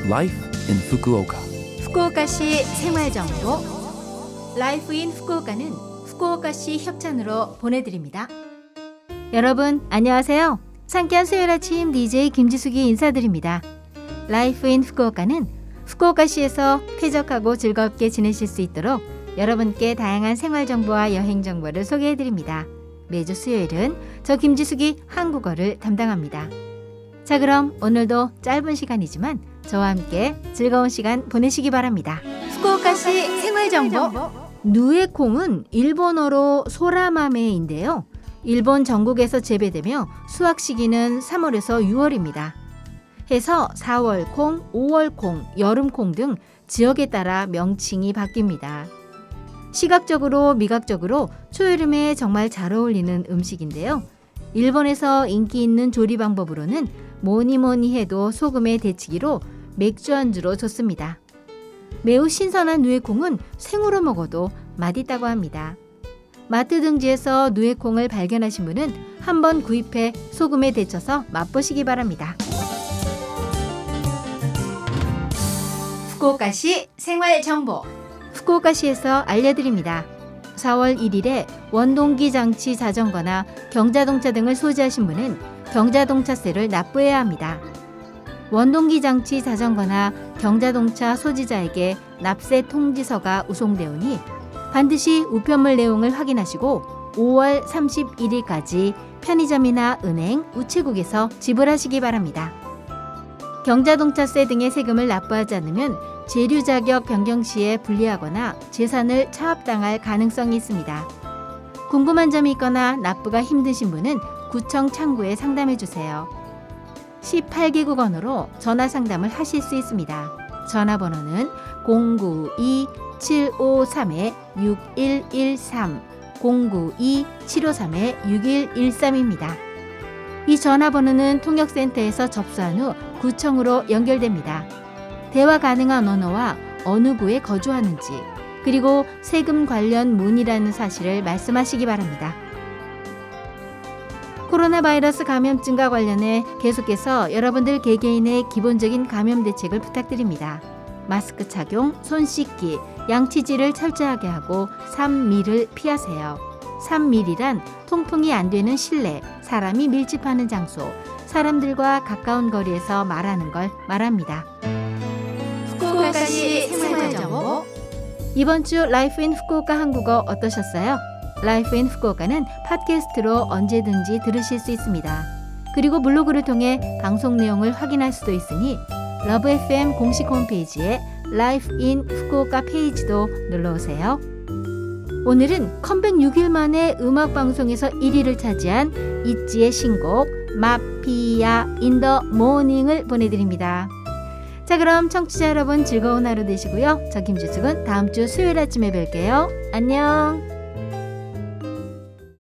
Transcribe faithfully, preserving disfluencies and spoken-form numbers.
Life in Fukuoka. 후쿠오카시 생활정보 라이프 인 후쿠오카는 후쿠오카시 협찬으로 보내드립니다. 여러분 안녕하세요. 상쾌한 수요일 아침 디제이 김지숙이 인사드립니다. 라이프 인 후쿠오카는 후쿠오카시에서 쾌적하고 즐겁게 지내실 수 있도록 여러분께 다양한 생활정보와 여행정보를 소개해드립니다. 매주 수요일은 저 김지숙이 한국어를 담당합니다. 자, 그럼 오늘도 짧은 시간이지만 저와 함께 즐거운 시간 보내시기 바랍니다. 후쿠오카시 생활정보. 누에콩은 일본어로 소라마메인데요. 일본 전국에서 재배되며 수확 시기는 삼월에서 유월입니다. 해서 사월콩, 오월콩, 여름콩 등 지역에 따라 명칭이 바뀝니다. 시각적으로 미각적으로 초여름에 정말 잘 어울리는 음식인데요. 일본에서 인기 있는 조리 방법으로는 뭐니 뭐니 해도 소금에 데치기로 맥주 안주로 좋습니다. 매우 신선한 누에콩은 생으로 먹어도 맛있다고 합니다. 마트 등지에서 누에콩을 발견하신 분은 한번 구입해 소금에 데쳐서 맛보시기 바랍니다. 후쿠오카시 생활정보. 후쿠오카시에서 알려드립니다. 사월 일일에 원동기 장치 자전거나 경자동차 등을 소지하신 분은 경자동차세를 납부해야 합니다. 원동기 장치 자전거나 경자동차 소지자에게 납세 통지서가 우송되오니 반드시 우편물 내용을 확인하시고 오월 삼십일일까지 편의점이나 은행, 우체국에서 지불하시기 바랍니다. 경자동차세 등의 세금을 납부하지 않으면 재료자격 변경 시에 불리하거나 재산을 차압당할 가능성이 있습니다. 궁금한 점이 있거나 납부가 힘드신 분은 구청 창구에 상담해 주세요. 십팔 개국 언어로 전화 상담을 하실 수 있습니다. 전화번호는 공구이 칠오삼 육일일삼 공구이 칠오삼 육일일삼입니다. 이 전화번호는 통역센터에서 접수한 후 구청으로 연결됩니다. 대화 가능한 언어와 어느 구에 거주하는지, 그리고 세금 관련 문의라는 사실을 말씀하시기 바랍니다. 코로나 바이러스 감염증과 관련해 계속해서 여러분들 개개인의 기본적인 감염 대책을 부탁드립니다. 마스크 착용, 손 씻기, 양치질을 철저하게 하고 삼 밀을 피하세요. 삼 밀이란 통풍이 안 되는 실내, 사람이 밀집하는 장소, 사람들과 가까운 거리에서 말하는 걸 말합니다. 후쿠오카시 생활정보. 이번 주 라이프 인 후쿠오카 한국어 어떠셨어요? 라이프 인 후쿠오카는 팟캐스트로 언제든지 들으실 수 있습니다. 그리고 블로그를 통해 방송 내용을 확인할 수도 있으니 러브 에프엠 공식 홈페이지에 라이프 인 후쿠오카 페이지도 눌러오세요. 오늘은 컴백 육 일 만에 음악방송에서 일 위를 차지한 있지의 신곡 마피아 인 더 모닝을 보내드립니다. 자, 그럼 청취자 여러분 즐거운 하루 되시고요. 저 김지숙은 다음 주 수요일 아침에 뵐게요. 안녕.